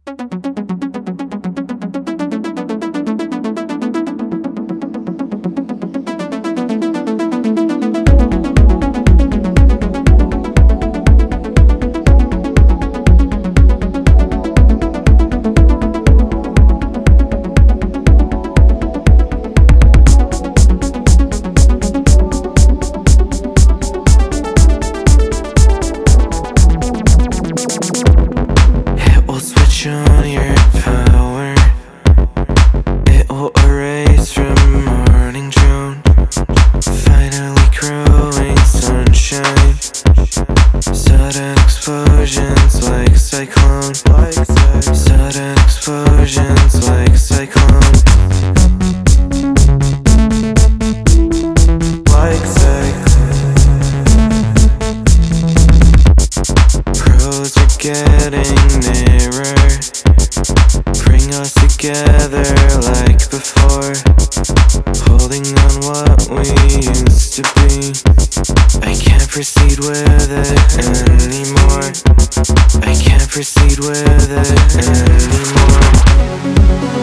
On your power, it will erase from morning drone. Finally growing sunshine, sudden explosions like cyclone. Sudden explosions like cyclone. Like cyclone. Pros are getting nearer, bring us together like before, holding on what we used to be. I can't proceed with it anymore. I can't proceed with it anymore.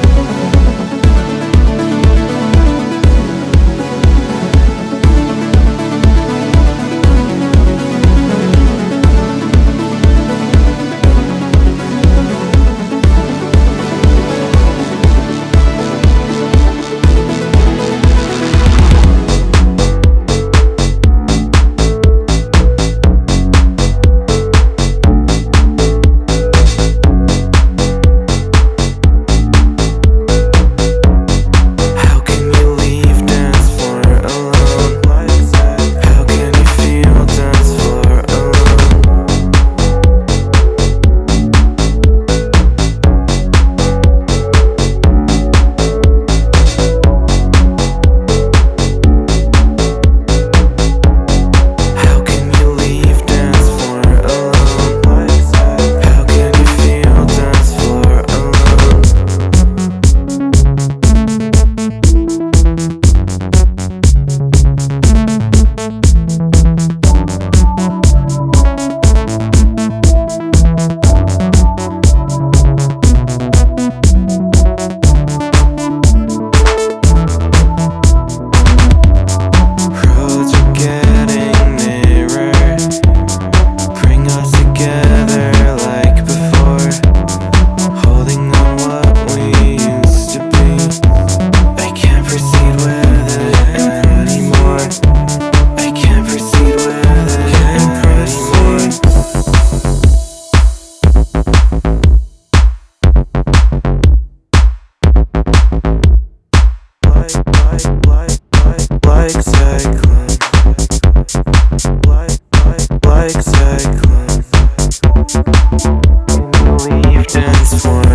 Like cyclone, like cyclone. Can you leave dance for